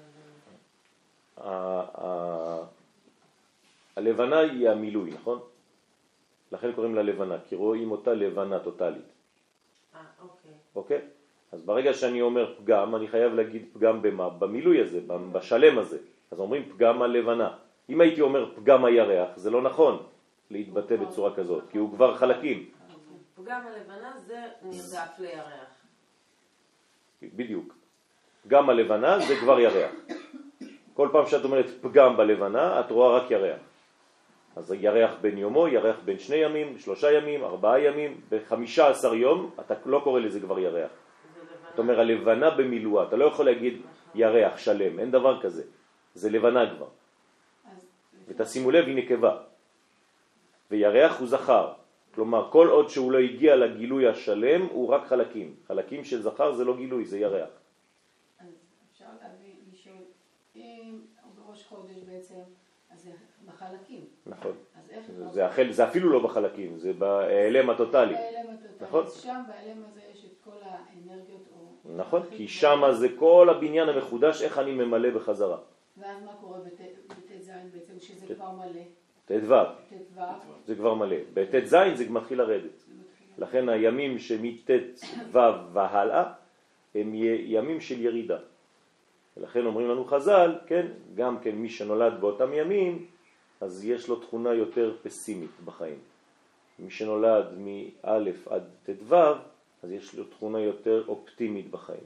האלה. הלבנה היא המילוי, נכון? לכן קוראים לה לבנה, כי רואים אותה לבנה טוטלית. אה, אוקיי. אוקיי? אז ברגע שאני אומר פגם, אני חייב להגיד פגם במה? במילוי הזה, בשלם הזה. אז אומרים פגם הלבנה. אם הייתי אומר פגם הירח, זה לא נכון להתבטא בצורה כזאת, כי הוא כבר חלקים. פגם הלבנה זה נרדף לירח. בדיוק. פגם הלבנה זה כבר ירח. כל פעם שאת אומרת פגם בלבנה, את רואה רק ירח. אז ירח בין יומו, ירח בין שני ימים, שלושה ימים, ארבעה ימים, בחמישה עשר יום, אתה לא קורא לזה כבר ירח. זאת אומרת, הלבנה במילואה, אתה לא יכול להגיד ירח שלם, אין דבר כזה. זה לבנה כבר. ותשימו לב, היא נקבה. וירח הוא זכר. כלומר, כל עוד שהוא לא הגיע לגילוי השלם, הוא רק חלקים. חלקים של זכר זה לא גילוי, זה ירח. אז אפשר להבין, לשאול, אם בראש חודש בעצם, אז זה בחלקים. נכון. אז איך... זה, החל, זה אפילו לא בחלקים, זה בהיעלם הטוטלי. בהיעלם הטוטלי. נכון. אז שם בהיעלם הזה יש את כל האנרגיות או... נכון, כי שם זה כל הבניין המחודש, איך אני ממלא בחזרה. ואז מה קורה בט' ז' בעצם, שזה כבר מלא? ט' ו'. ט' ו'. זה כבר מלא. בט' ז' זה מתחיל לרדת. לכן הימים שמט' ו' והלאה הם ימים של ירידה. ולכן אומרים לנו חז"ל, כן, גם כן מי שנולד באותם ימים, אז יש לו תכונה יותר פסימית בחיים. מי שנולד מא' עד ט' ו', אז יש לו תכונה יותר אופטימית בחיים.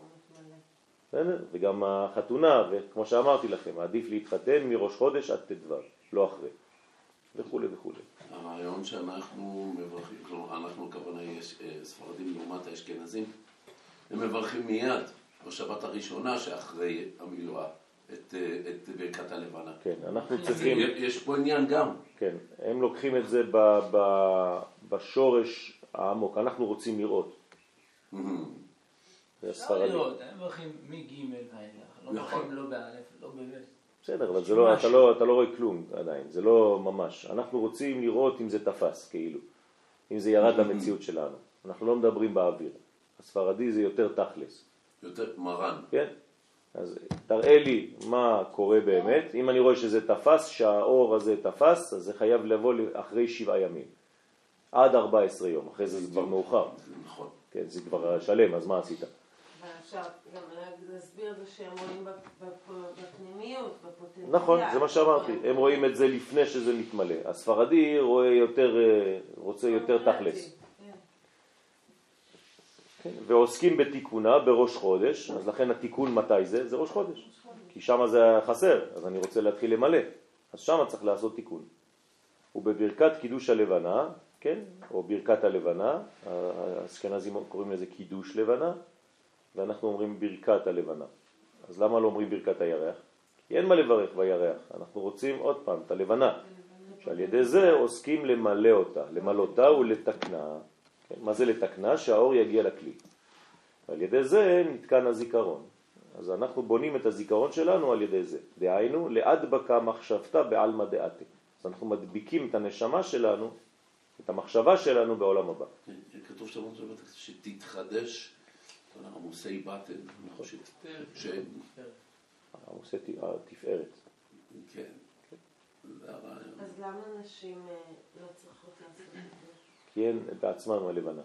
וגם החתונה, וכמו שאמרתי לכם, עדיף להתחתן מראש חודש עד ט' ו', לא אחרי, וכו' וכו'. הרעיון שאנחנו מברכים, כלומר, אנחנו הכוונה יש ספרדים לעומת האשכנזים, הם מברכים מיד בשבת הראשונה שאחרי המילואה את, את ברכת הלבנה. כן, אנחנו צריכים... יש פה עניין גם. כן, הם לוקחים את זה ב, ב, בשורש העמוק, אנחנו רוצים לראות. זה אפשר הספרדים. לראות, הם מברכים מג' ואילך, לא מברכים לא באלף, לא בבית. בסדר, אבל זה לא, אתה לא, אתה לא רואה כלום עדיין, זה לא ממש. אנחנו רוצים לראות אם זה תפס, כאילו. אם זה ירד למציאות שלנו. אנחנו לא מדברים באוויר. הספרדי זה יותר תכלס. יותר מרן. כן? אז תראה לי מה קורה באמת. אם אני רואה שזה תפס, שהאור הזה תפס, אז זה חייב לבוא אחרי שבעה ימים. עד ארבע עשרה יום. אחרי זה זה כבר מאוחר. נכון. כן, זה כבר שלם, אז מה עשית? ואפשר גם להסביר את זה שהם רואים בפנימיות, בפוטנציאל. נכון, זה מה שאמרתי. הם רואים את זה לפני שזה מתמלא. הספרדי רואה יותר, רוצה יותר תכלס. ועוסקים בתיקונה בראש חודש, אז לכן התיקון מתי זה? זה ראש חודש. כי שם זה חסר, אז אני רוצה להתחיל למלא. אז שם צריך לעשות תיקון. ובברכת קידוש הלבנה, כן? או ברכת הלבנה, האשכנזים קוראים לזה קידוש לבנה, ואנחנו אומרים ברכת הלבנה. אז למה לא אומרים ברכת הירח? כי אין מה לברך בירח. אנחנו רוצים עוד פעם את הלבנה, שעל ידי זה עוסקים למלא אותה, למלא אותה ולתקנה. כן? מה זה לתקנה? שהאור יגיע לכלי. ועל ידי זה נתקן הזיכרון. אז אנחנו בונים את הזיכרון שלנו על ידי זה. דהיינו, להדבקה מחשבתה בעלמא דעתי. אז אנחנו מדביקים את הנשמה שלנו, את המחשבה שלנו בעולם הבא. כתוב שם שתתחדש עמוסי בטן, עמוסי תפארת. כן. אז למה נשים לא צריכות לעשות את זה? כי הן בעצמן הלבנה.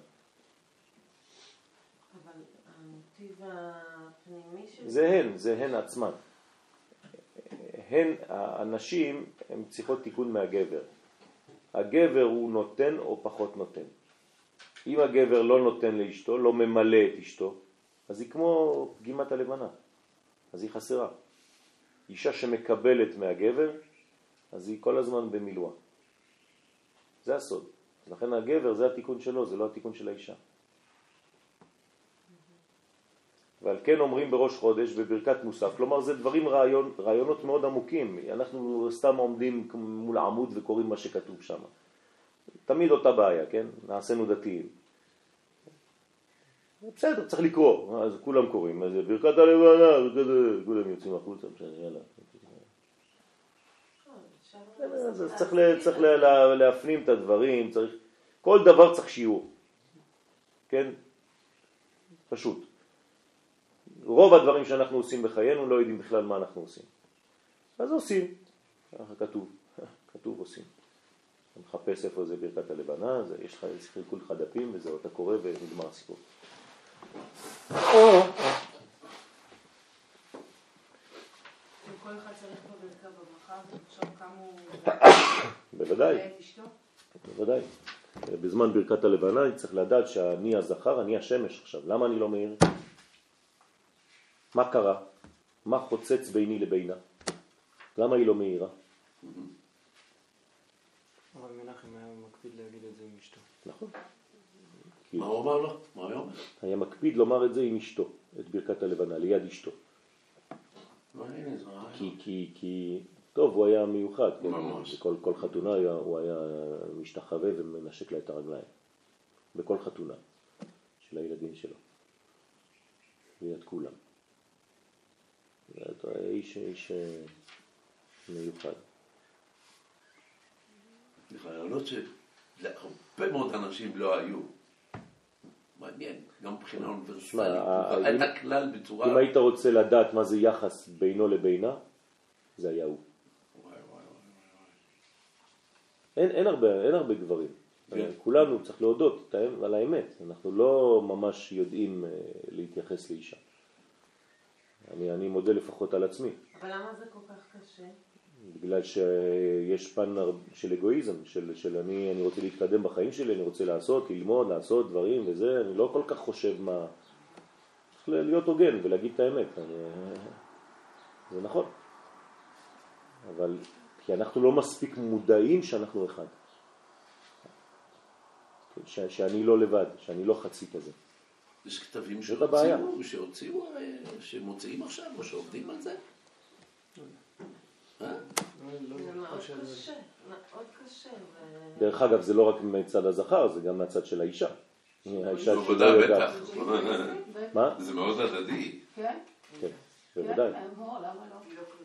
אבל המוטיב הפנימי של זה הן, זה הן עצמן. הן, הנשים, הן צריכות תיקון מהגבר. הגבר הוא נותן או פחות נותן. אם הגבר לא נותן לאשתו, לא ממלא את אשתו, אז היא כמו פגימת הלבנה. אז היא חסרה. אישה שמקבלת מהגבר, אז היא כל הזמן במילואה. זה הסוד. לכן הגבר זה התיקון שלו, זה לא התיקון של האישה. ועל כן אומרים בראש חודש בברכת מוסף, כלומר זה דברים רעיון, רעיונות מאוד עמוקים, אנחנו סתם עומדים מול עמוד וקוראים מה שכתוב שם. תמיד אותה בעיה, כן? נעשינו דתיים. בסדר, צריך לקרוא, אז כולם קוראים, אז ברכת הלבנה, כולם יוצאים החוצה, יאללה. אז צריך, צריך להפנים את הדברים, צריך, כל דבר צריך שיעור, כן? פשוט. רוב הדברים שאנחנו עושים בחיינו לא יודעים בכלל מה אנחנו עושים. אז עושים, ככה כתוב, כתוב עושים. אתה מחפש איפה זה ברכת הלבנה, זה, יש לך חילקו לך דפים וזהו, אתה קורא ונגמר הסיפור. כל אחד צריך בברכה בברכה, עכשיו כמה הוא... בוודאי, בוודאי. בזמן ברכת הלבנה אני צריך לדעת שאני הזכר, אני השמש עכשיו. למה אני לא מאיר? מה קרה? מה חוצץ ביני לבינה? למה היא לא מאירה? אבל מנחם היה מקפיד להגיד את זה עם אשתו. נכון. מה הוא אמר לו? מה הוא אומר? היה מקפיד לומר את זה עם אשתו, את ברכת הלבנה, ליד אשתו. כי, כי, כי, טוב, הוא היה מיוחד, כן? בכל, כל חתונה היה, הוא היה משתחווה ומנשק לה את הרגליים. בכל חתונה של הילדים שלו. ליד כולם. זה איש, איש מיוחד. רעיונות שלהרבה מאוד אנשים לא היו. מעניין, גם מבחינה אוניברסלית. את הכלל בצורה... אם היית רוצה לדעת מה זה יחס בינו לבינה, זה היה הוא. אין, אין הרבה, אין הרבה גברים. כן. כולנו צריך להודות על האמת. אנחנו לא ממש יודעים להתייחס לאישה. אני, אני מודה לפחות על עצמי. אבל למה זה כל כך קשה? בגלל שיש פן של אגואיזם, של, של אני, אני רוצה להתקדם בחיים שלי, אני רוצה לעשות, ללמוד, לעשות דברים וזה, אני לא כל כך חושב מה... צריך להיות הוגן ולהגיד את האמת. אני... זה נכון. אבל כי אנחנו לא מספיק מודעים שאנחנו אחד. ש, שאני לא לבד, שאני לא חצי כזה. יש כתבים זאת הבעיה. שהוציאו, שהוציאו, שמוצאים עכשיו או שעובדים על זה? אה? זה מאוד קשה, מאוד קשה. דרך אגב, זה לא רק מצד הזכר, זה גם מהצד של האישה. האישה שלא בוודאי, יודעת. בטח. מה? זה מאוד הדדי. כן? כן, בוודאי. כן, למה לא?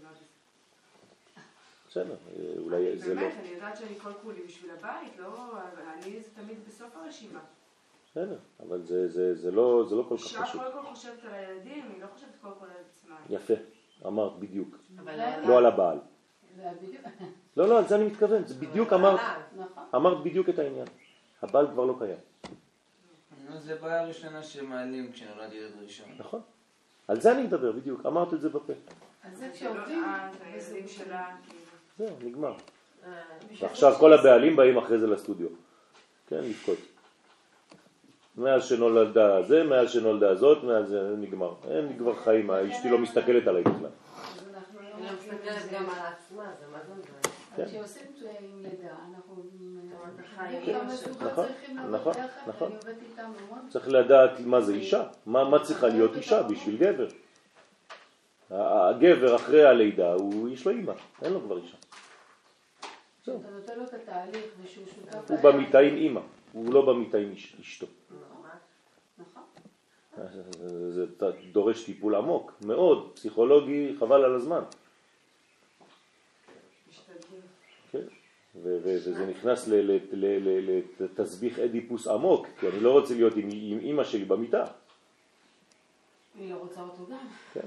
בסדר, אולי זה לא... באמת, אני יודעת שאני כל כולי בשביל הבית, לא... אני זה תמיד בסוף הרשימה. בסדר, אבל זה, זה, זה לא, זה לא כל כך אישה חשוב. כל כל חושבת על הילדים, היא לא חושבת כל כל על עצמה. יפה, אמרת בדיוק. אבל לא על הבעל. זה בדיוק. לא, לא, על זה אני מתכוון, זה בדיוק אמרת, נכון. אמרת בדיוק את העניין. הבעל כבר לא קיים. זה בעיה ראשונה שמעלים כשנולד ילד ראשון. נכון. על זה אני מדבר בדיוק, אמרת את זה בפה. אז זה זה לא כשעובדים, את, הילדים שלה, כאילו. זהו, נגמר. ועכשיו כל הבעלים באים אחרי זה לסטודיו. כן, לבכות. מאז שנולדה זה, מאז שנולדה זאת, מאז זה נגמר. אין לי כבר חיים, אשתי לא מסתכלת עליי בכלל. אז אנחנו לא היא לא מסתכלת גם על עצמה, זה מה זה מדבר. אז כשעושים עם לידה, אנחנו החיים. גם הזוגות נכון, צריכים נכון, לעבוד ביחד, נכון. אני עובדת איתם המון. צריך לדעת מה זה אישה, מה, מה צריכה להיות אישה בשביל גבר. הגבר אחרי הלידה, הוא, יש לו אימא, אין לו כבר אישה. זהו. אתה נותן לו את התהליך ושהוא שותף... הוא במיטה עם אימא, הוא לא במיטה עם אש- אשתו. נכון. זה זה דורש טיפול עמוק, מאוד, פסיכולוגי, חבל על הזמן. משתדלים. כן? ו- ו- וזה נכנס ל- ל- ל- ל- לתסביך אדיפוס עמוק, כי אני לא רוצה להיות עם, עם אימא שלי במיטה. היא לא רוצה אותו גם. כן?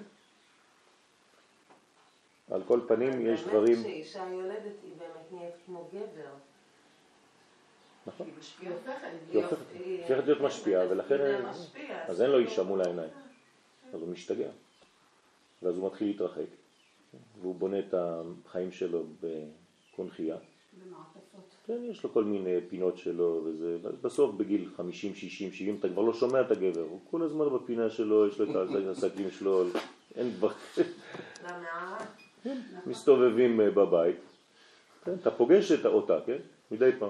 על כל פנים יש דברים... באמת כשאישה יולדת היא באמת נהיית כמו גבר. נכון. היא משפיעה. היא הופכת. היא הופכת הופכת להיות משפיעה, ולכן... זה משפיע, אז אין לו אישה מול העיניים. אז הוא משתגע. ואז הוא מתחיל להתרחק. והוא בונה את החיים שלו בקונחייה. במעטפות. כן, יש לו כל מיני פינות שלו, וזה, בסוף בגיל חמישים, שישים, שבעים, אתה כבר לא שומע את הגבר, הוא כל הזמן בפינה שלו, יש לו את העסקים שלו, אין כבר, למערה. מסתובבים בבית, כן, אתה פוגש אותה, כן, מדי פעם.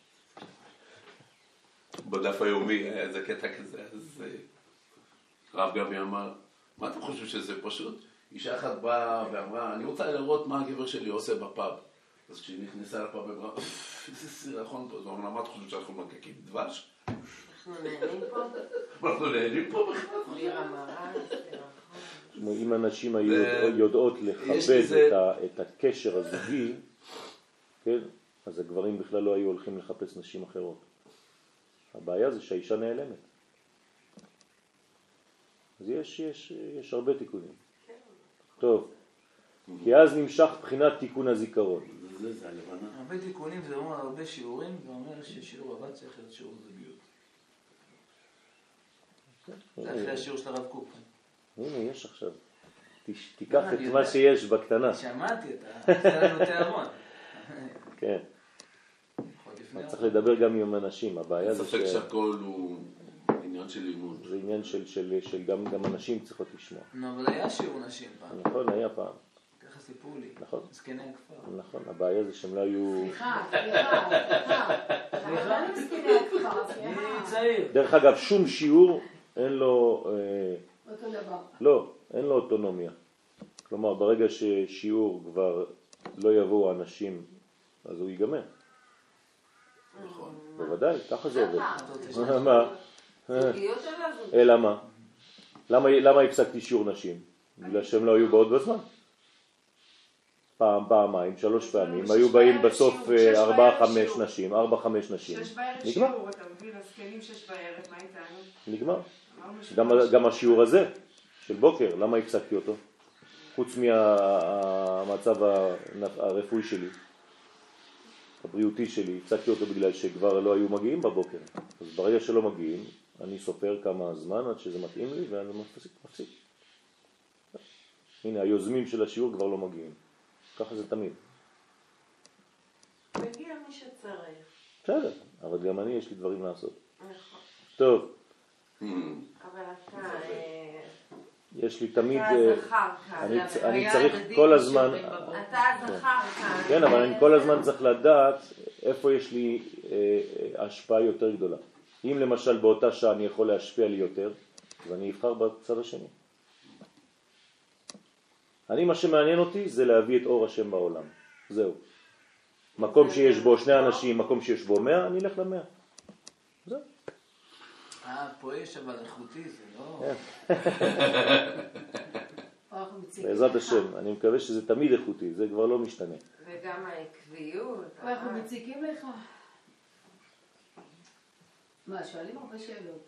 בדף היומי היה איזה קטע כזה, אז רב גבי אמר, מה אתם חושבים שזה פשוט? אישה אחת באה ואמרה, אני רוצה לראות מה הגבר שלי עושה בפאב. אז כשהיא נכנסה לפאב, היא אמרה, איזה סירחון פה. אז הוא אמרה, מה אתה חושב שאנחנו מקקים דבש? אנחנו נהנים פה? אנחנו נהנים פה בכלל? בלי המרה, סירחון. אם הנשים היו יודעות לכבד את הקשר הזוגי, כן, אז הגברים בכלל לא היו הולכים לחפש נשים אחרות. הבעיה זה שהאישה נעלמת. אז יש, יש, יש הרבה תיקונים. טוב, כי אז נמשך בחינת תיקון הזיכרון. זה זה הלבנה. הרבה תיקונים זה אומר הרבה שיעורים, ואומר ששיעור הבא צריך להיות שיעור זוגיות. זה אחרי השיעור של הרב קוק. הנה, יש עכשיו. תש- תיקח את מה שיש בקטנה. שמעתי את לנו תיארון. כן. צריך לדבר גם עם אנשים. הבעיה זה ספק שהכל הוא עניין של לימוד. זה עניין של, של, של גם, גם אנשים צריכות לשמוע. נו, אבל היה שיעור נשים פעם. נכון, היה פעם. ככה סיפרו לי. נכון. זקני הכפר. נכון, הבעיה זה שהם לא היו... סליחה, סליחה, סליחה. אבל אני מסכימה הכפר, אני סליחה. צעיר. דרך אגב, שום שיעור אין לו... אה, אותו דבר. לא, אין לו אוטונומיה. כלומר, ברגע ששיעור כבר לא יבואו אנשים, אז הוא ייגמר. נכון. בוודאי, ככה זה עובד. למה? מה? זוגיות שלה זוגיות. אלא מה? למה, למה הפסקתי שיעור נשים? בגלל שהם לא היו באות בזמן. פעם, פעמיים, שלוש פעמים, היו באים בסוף ארבע, חמש נשים, ארבע, חמש נשים. שש בערב נגמר. שיעור, אתה מבין, הזקנים שש בערב, מה איתנו? נגמר. אמרנו ש- גם, גם השיעור הזה של בוקר, למה הפסקתי אותו? חוץ מהמצב הרפואי שלי, הבריאותי שלי, הפסקתי אותו בגלל שכבר לא היו מגיעים בבוקר. אז ברגע שלא מגיעים, אני סופר כמה זמן עד שזה מתאים לי ואני מפסיק, מפסיק. הנה, היוזמים של השיעור כבר לא מגיעים. ככה זה תמיד. מגיע מי שצריך. בסדר, אבל גם אני יש לי דברים לעשות. נכון. טוב, אבל אתה... אה, יש לי תמיד... אתה אה, הזכר כאן. אני, זה אני היה צריך הדדי כל הזמן... בשיעורים בבוקר. אתה הזכר כאן. כן, אבל אני כל הזמן צריך לדעת איפה יש לי אה, השפעה יותר גדולה. אם למשל באותה שעה אני יכול להשפיע לי יותר, אז אני אבחר בצד השני. אני, מה שמעניין אותי זה להביא את אור השם בעולם. זהו. מקום שיש בו שני אנשים, מקום שיש בו מאה, אני אלך למאה. זהו. אה, פה יש אבל איכותי, זה לא... בעזרת השם, אני מקווה שזה תמיד איכותי, זה כבר לא משתנה. וגם העקביות. אנחנו מציקים לך. מה, שואלים הרבה שאלות,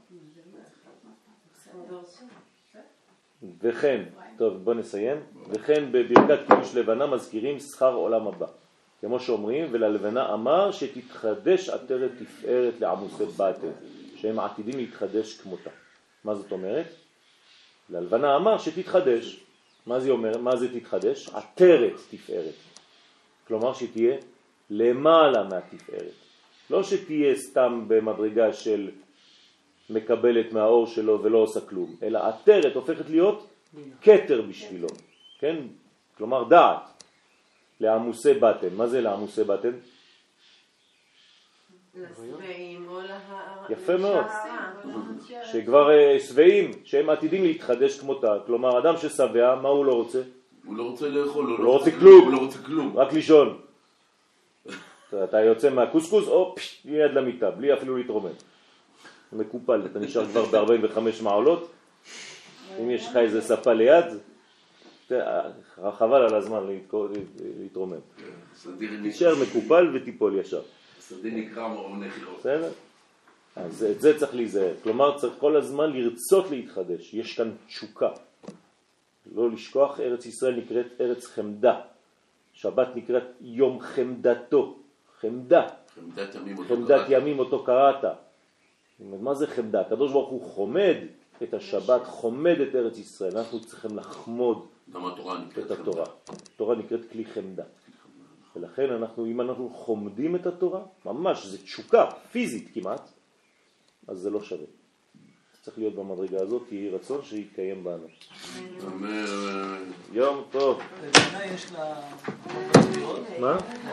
לא? וכן, טוב בוא נסיים, וכן בברכת קידוש לבנה מזכירים שכר עולם הבא. כמו שאומרים, וללבנה אמר שתתחדש עטרת תפארת לעמוסי בטן, שהם עתידים להתחדש כמותה. מה זאת אומרת? ללבנה אמר שתתחדש. מה זה אומר? מה זה תתחדש? עטרת תפארת. כלומר שתהיה למעלה מהתפארת. לא שתהיה סתם במדרגה של מקבלת מהאור שלו ולא עושה כלום, אלא עטרת הופכת להיות כתר בשבילו. כן? כלומר דעת. לעמוסי בטן. מה זה לעמוסי בטן? לשבעים או להערה. יפה מאוד. שכבר שבעים, שהם עתידים להתחדש כמותה. כלומר, אדם ששבע, מה הוא לא רוצה? הוא לא רוצה לאכול, הוא לא רוצה כלום. הוא לא רוצה כלום. רק לישון. אתה יוצא מהקוסקוס, או פשט, יד למיטה, בלי אפילו להתרומם. מקופל, אתה נשאר כבר ב-ארבעים וחמש מעלות. אם יש לך איזה ספה ליד, חבל על הזמן להתרומם. תישאר מקופל וטיפול ישר. סדי נקרא מרום נחירות. בסדר? אז את זה צריך להיזהר. כלומר, צריך כל הזמן לרצות להתחדש. יש כאן תשוקה. לא לשכוח, ארץ ישראל נקראת ארץ חמדה. שבת נקראת יום חמדתו. חמדה. חמדת ימים אותו חמדת קראת. ימים אותו קראת. מה זה חמדה? הקדוש ברוך הוא חומד את השבת, חומד את ארץ ישראל. אנחנו צריכים לחמוד גם התורה נקראת את התורה. התורה נקראת כלי חמדה. ולכן אנחנו, אם אנחנו חומדים את התורה, ממש, זה תשוקה פיזית כמעט, אז זה לא שווה. צריך להיות במדרגה הזאת, כי יהי רצון שיתקיים בנו. אמן. יום טוב. לבנה יש לה... מה?